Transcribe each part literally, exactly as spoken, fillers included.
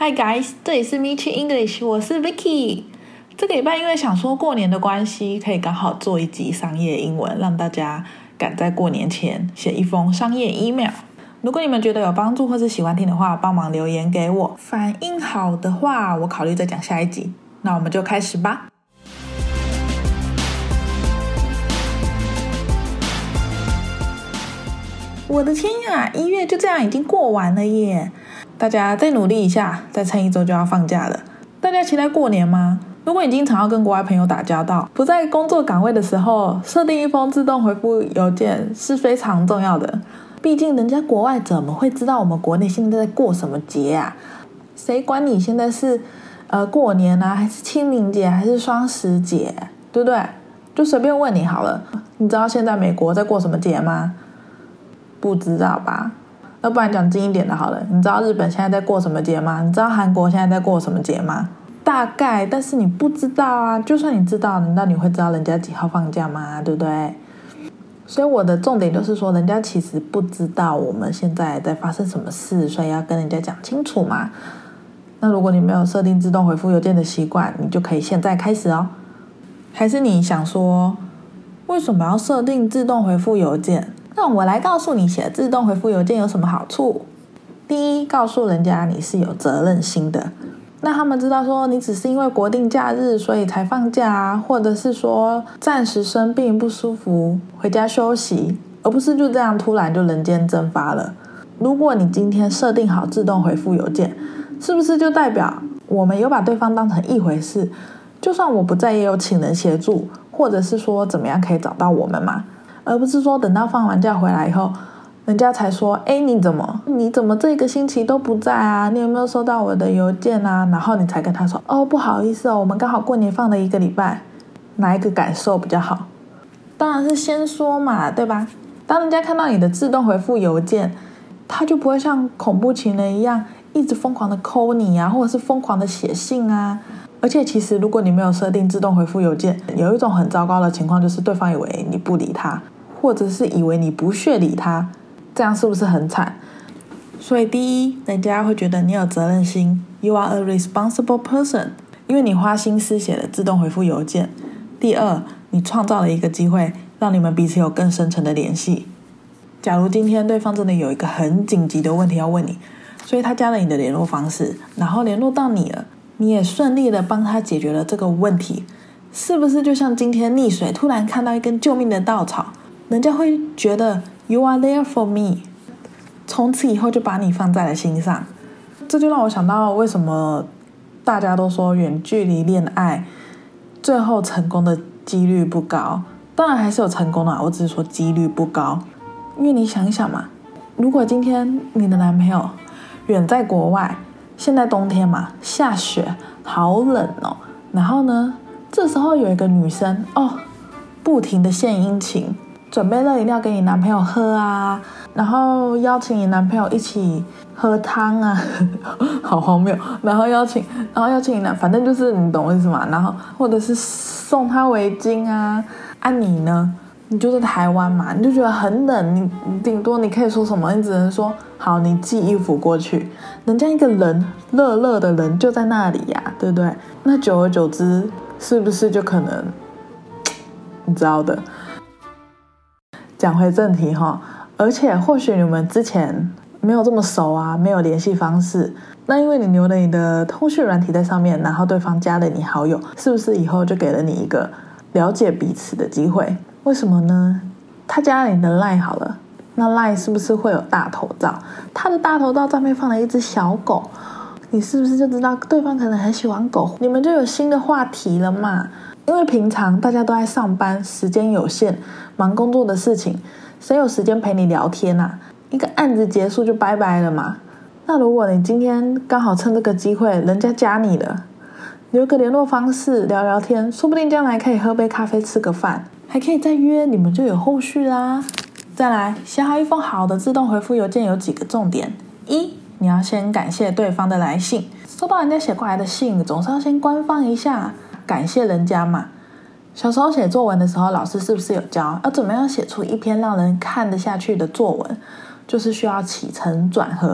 Hi guys， 这里是 Michi English， 我是 Vicky。这个礼拜因为想说过年的关系，可以刚好做一集商业英文，让大家赶在过年前写一封商业 email。如果你们觉得有帮助或是喜欢听的话，帮忙留言给我。反应好的话，我考虑再讲下一集。那我们就开始吧。我的天呀，一月就这样已经过完了耶！大家再努力一下，再撑一周就要放假了。大家期待过年吗？如果你经常要跟国外朋友打交道，不在工作岗位的时候，设定一封自动回复邮件是非常重要的。毕竟人家国外怎么会知道我们国内现在在过什么节啊？谁管你现在是呃过年啊，还是清明节，还是双十节，对不对？就随便问你好了，你知道现在美国在过什么节吗？不知道吧？要不然讲近一点的好了，你知道日本现在在过什么节吗？你知道韩国现在在过什么节吗？大概，但是你不知道啊。就算你知道，难道你会知道人家几号放假吗？对不对？所以我的重点就是说，人家其实不知道我们现在在发生什么事，所以要跟人家讲清楚嘛。那如果你没有设定自动回复邮件的习惯，你就可以现在开始哦。还是你想说，为什么要设定自动回复邮件？那我来告诉你，写自动回复邮件有什么好处。第一，告诉人家你是有责任心的。那他们知道说你只是因为国定假日所以才放假啊，或者是说暂时生病不舒服回家休息，而不是就这样突然就人间蒸发了。如果你今天设定好自动回复邮件，是不是就代表我们有把对方当成一回事？就算我不在也有请人协助，或者是说怎么样可以找到我们嘛？而不是说等到放完假回来以后，人家才说，哎，你怎么你怎么这个星期都不在啊？你有没有收到我的邮件啊？然后你才跟他说，哦，不好意思哦，我们刚好过年放了一个礼拜。哪一个感受比较好？当然是先说嘛，对吧？当人家看到你的自动回复邮件，他就不会像恐怖情人一样一直疯狂的call你啊，或者是疯狂的写信啊。而且其实如果你没有设定自动回复邮件，有一种很糟糕的情况，就是对方以为你不理他，或者是以为你不屑理他，这样是不是很惨？所以第一，人家会觉得你有责任心， You are a responsible person， 因为你花心思写了自动回复邮件。第二，你创造了一个机会，让你们彼此有更深层的联系。假如今天对方真的有一个很紧急的问题要问你，所以他加了你的联络方式，然后联络到你了，你也顺利的帮他解决了这个问题，是不是就像今天溺水突然看到一根救命的稻草，人家会觉得 You are there for me， 从此以后就把你放在了心上。这就让我想到为什么大家都说远距离恋爱最后成功的几率不高。当然还是有成功的，我只是说几率不高。因为你想一想嘛，如果今天你的男朋友远在国外，现在冬天嘛，下雪好冷哦，然后呢这时候有一个女生哦，不停的献殷勤，准备热饮料给你男朋友喝啊，然后邀请你男朋友一起喝汤啊好荒谬，然后邀请然后邀请你男，反正就是你懂我意思嘛，然后或者是送他围巾啊。啊你呢，你就在台湾嘛，你就觉得很冷，你顶多你可以说什么？你只能说好，你寄衣服过去。人家一个人热热的人就在那里呀，对不对？那久而久之，是不是就可能你知道的？讲回正题哈，而且或许你们之前没有这么熟啊，没有联系方式，那因为你留了你的通讯软体在上面，然后对方加了你好友，是不是以后就给了你一个了解彼此的机会？为什么呢？他加了你的 LINE 好了，那 LINE 是不是会有大头照？他的大头照上面放了一只小狗，你是不是就知道对方可能很喜欢狗？你们就有新的话题了嘛？因为平常大家都在上班，时间有限，忙工作的事情，谁有时间陪你聊天啊？一个案子结束就拜拜了嘛。那如果你今天刚好趁这个机会，人家加你了，留个联络方式聊聊天，说不定将来可以喝杯咖啡吃个饭，还可以再约，你们就有后续啦。再来，写好一封好的自动回复邮件有几个重点。一，你要先感谢对方的来信，收到人家写过来的信，总是要先官方一下，感谢人家嘛。小时候写作文的时候，老师是不是有教要怎么样写出一篇让人看得下去的作文？就是需要起承转合，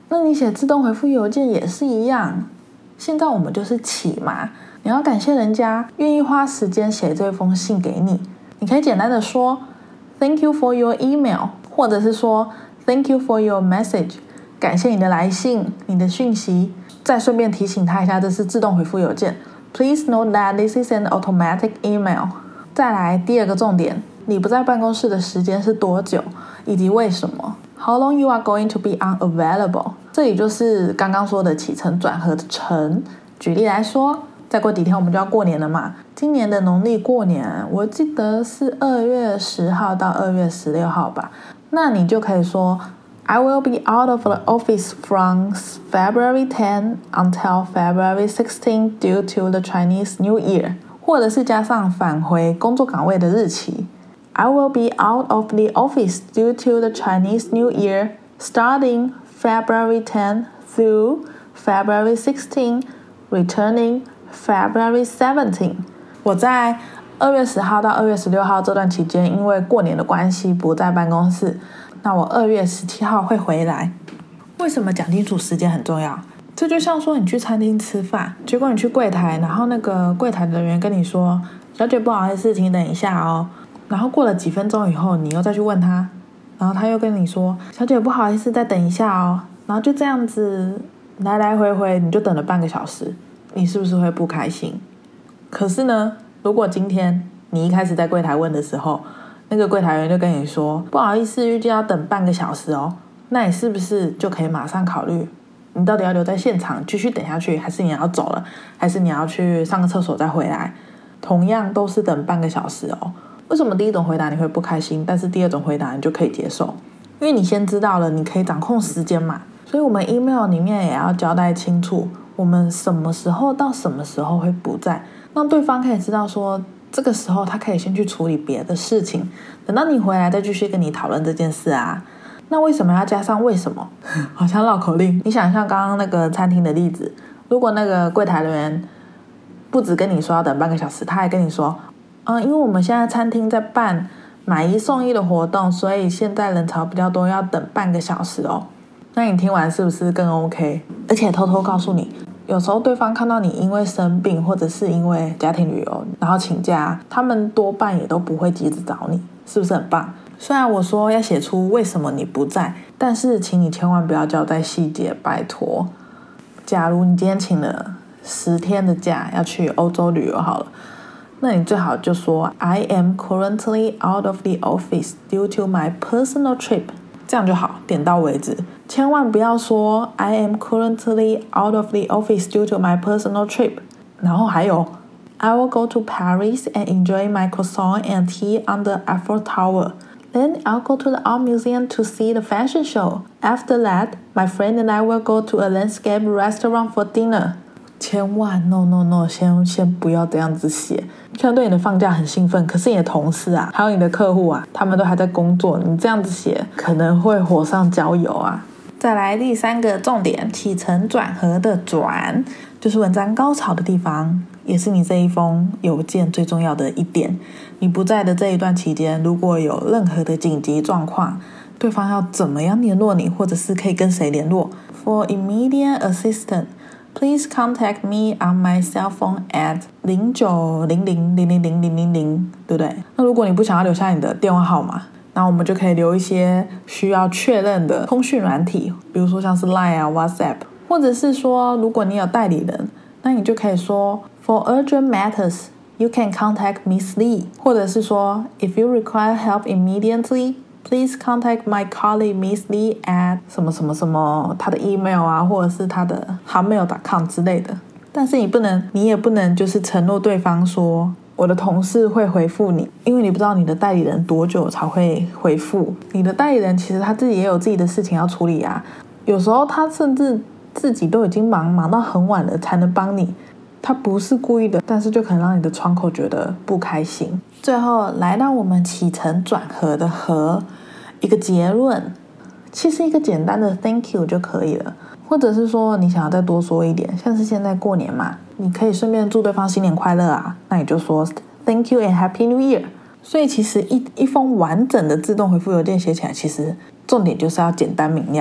那你写自动回复邮件也是一样。现在我们就是起嘛，你要感谢人家愿意花时间写这封信给你，你可以简单的说 Thank you for your email， 或者是说 Thank you for your message， 感谢你的来信，你的讯息，再顺便提醒他一下这是自动回复邮件。 Please note that this is an automatic email。 再来第二个重点，你不在办公室的时间是多久以及为什么。 How long you are going to be unavailable， 这里就是刚刚说的起承转合的承。举例来说，再过几天我们就要过年了嘛，今年的农历过年我记得是二月十号到二月十六号吧，那你就可以说 I will be out of the office from February tenth until February sixteenth due to the Chinese New Year， 或者是加上返回工作岗位的日期I will be out of the office due to the Chinese New Year starting February tenth through February sixteenth, returning February seventeenth。 我在二月十号到二月十六号这段期间因为过年的关系不在办公室，那我二月十七号会回来。为什么讲清楚时间很重要？这就像说你去餐厅吃饭，结果你去柜台，然后那个柜台的人员跟你说小姐不好意思请等一下哦，然后过了几分钟以后你又再去问他，然后他又跟你说小姐不好意思再等一下哦，然后就这样子来来回回你就等了半个小时，你是不是会不开心？可是呢，如果今天你一开始在柜台问的时候，那个柜台员就跟你说不好意思预计要等半个小时哦，那你是不是就可以马上考虑你到底要留在现场继续等下去，还是你要走了，还是你要去上个厕所再回来？同样都是等半个小时哦。为什么第一种回答你会不开心，但是第二种回答你就可以接受？因为你先知道了你可以掌控时间嘛，所以我们 email 里面也要交代清楚我们什么时候到什么时候会不在，让对方可以知道说这个时候他可以先去处理别的事情，等到你回来再继续跟你讨论这件事啊。那为什么要加上为什么？好像绕口令。你想象刚刚那个餐厅的例子，如果那个柜台人员不只跟你说要等半个小时，他还跟你说嗯，因为我们现在餐厅在办买一送一的活动，所以现在人潮比较多，要等半个小时哦。那你听完是不是更 OK？ 而且偷偷告诉你，有时候对方看到你因为生病或者是因为家庭旅游然后请假，他们多半也都不会急着找你，是不是很棒？虽然我说要写出为什么你不在，但是请你千万不要交代细节，拜托。假如你今天请了十天的假要去欧洲旅游好了，那你最好就说 I am currently out of the office due to my personal trip， 这样就好，点到为止。千万不要说 I am currently out of the office due to my personal trip， 然后还有 I will go to Paris and enjoy my croissant and tea on the Eiffel Tower. Then I'll go to the art museum to see the fashion show. After that, my friend and I will go to a landscape restaurant for dinner. 千万 no no no 先先不要这样子写。虽然对你的放假很兴奋，可是你的同事啊还有你的客户啊，他们都还在工作，你这样子写可能会火上浇油啊。再来第三个重点，起承转合的转，就是文章高潮的地方，也是你这一封邮件最重要的一点。你不在的这一段期间，如果有任何的紧急状况，对方要怎么样联络你，或者是可以跟谁联络？ For immediate assistance, please contact me on my cell phone at 零九零零零零零零零零，对不对？那如果你不想要留下你的电话号码，那我们就可以留一些需要确认的通讯软体，比如说像是 Line 啊 WhatsApp， 或者是说如果你有代理人，那你就可以说 For urgent matters, you can contact Miss Lee， 或者是说 If you require help immediately, please contact my colleague Miss Lee at 什么什么什么，他的 email 啊，或者是他的 hotmail dot com 之类的。但是你不能，你也不能就是承诺对方说我的同事会回复你，因为你不知道你的代理人多久才会回复。你的代理人其实他自己也有自己的事情要处理啊，有时候他甚至自己都已经忙忙到很晚了才能帮你，他不是故意的，但是就可能让你的窗口觉得不开心。最后来到我们起承转合的合，一个结论，其实一个简单的 thank you 就可以了，或者是说你想要再多说一点，像是现在过年嘛，你可以顺便祝对方新年快乐啊，那你就说 thank you and happy new year。 所以其实一一封完整的自动回复邮件写起来，其实重点就是要简单明了。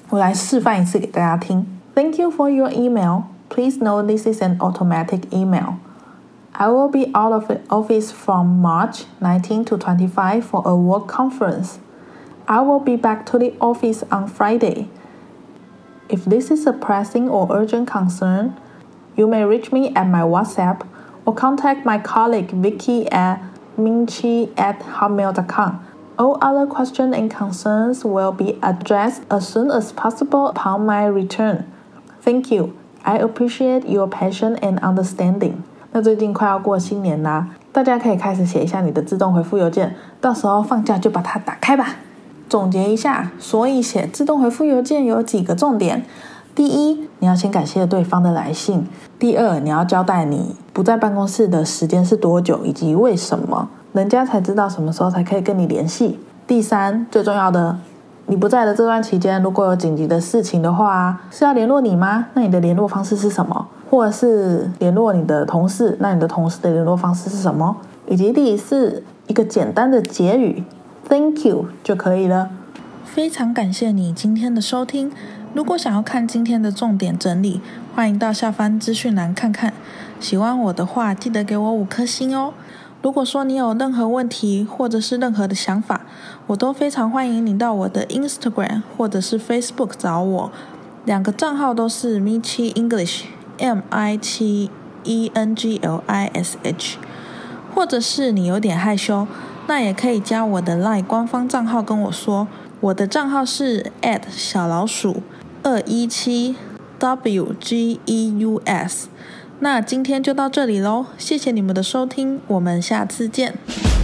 我来示范一次给大家听。Thank you for your email. Please note this is an automatic email. I will be out of the office from March nineteenth to twenty-fifth for a work conference. I will be back to the office on Friday. If this is a pressing or urgent concern, you may reach me at my WhatsApp or contact my colleague Vicky at minchi at hotmail dot com. All other questions and concerns will be addressed as soon as possible upon my return. Thank you. I appreciate your patience and understanding. 那最近快要过新年啦，大家可以开始写一下你的自动回复邮件，到时候放假就把它打开吧。总结一下，所以写自动回复邮件有几个重点。第一，你要先感谢对方的来信。第二，你要交代你不在办公室的时间是多久以及为什么，人家才知道什么时候才可以跟你联系。第三，最重要的，你不在的这段期间，如果有紧急的事情的话，是要联络你吗？那你的联络方式是什么？或者是联络你的同事，那你的同事的联络方式是什么？以及第四，一个简单的结语 Thank you 就可以了。非常感谢你今天的收听。如果想要看今天的重点整理，欢迎到下方资讯栏看看。喜欢我的话，记得给我五颗星哦。如果说你有任何问题或者是任何的想法，我都非常欢迎你到我的 Instagram 或者是 Facebook 找我，两个账号都是 Michi English M I 七 E N G L I S H， 或者是你有点害羞，那也可以加我的 Line 官方账号跟我说，我的账号是 at 小老鼠二一七 W G E U S。那今天就到这里咯，谢谢你们的收听，我们下次见。